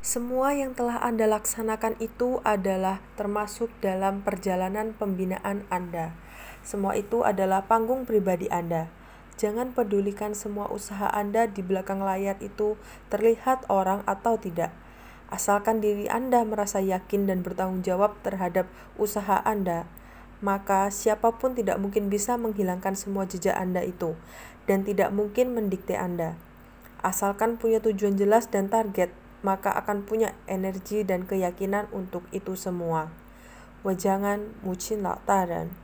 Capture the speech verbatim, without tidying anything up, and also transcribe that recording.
Semua yang telah Anda laksanakan itu adalah termasuk dalam perjalanan pembinaan Anda. Semua itu adalah panggung pribadi Anda. Jangan pedulikan semua usaha Anda di belakang layar itu terlihat orang atau tidak. Asalkan diri Anda merasa yakin dan bertanggung jawab terhadap usaha Anda, maka siapapun tidak mungkin bisa menghilangkan semua jejak Anda itu, dan tidak mungkin mendikte Anda. Asalkan punya tujuan jelas dan target, maka akan punya energi dan keyakinan untuk itu semua. 我将安母亲老大人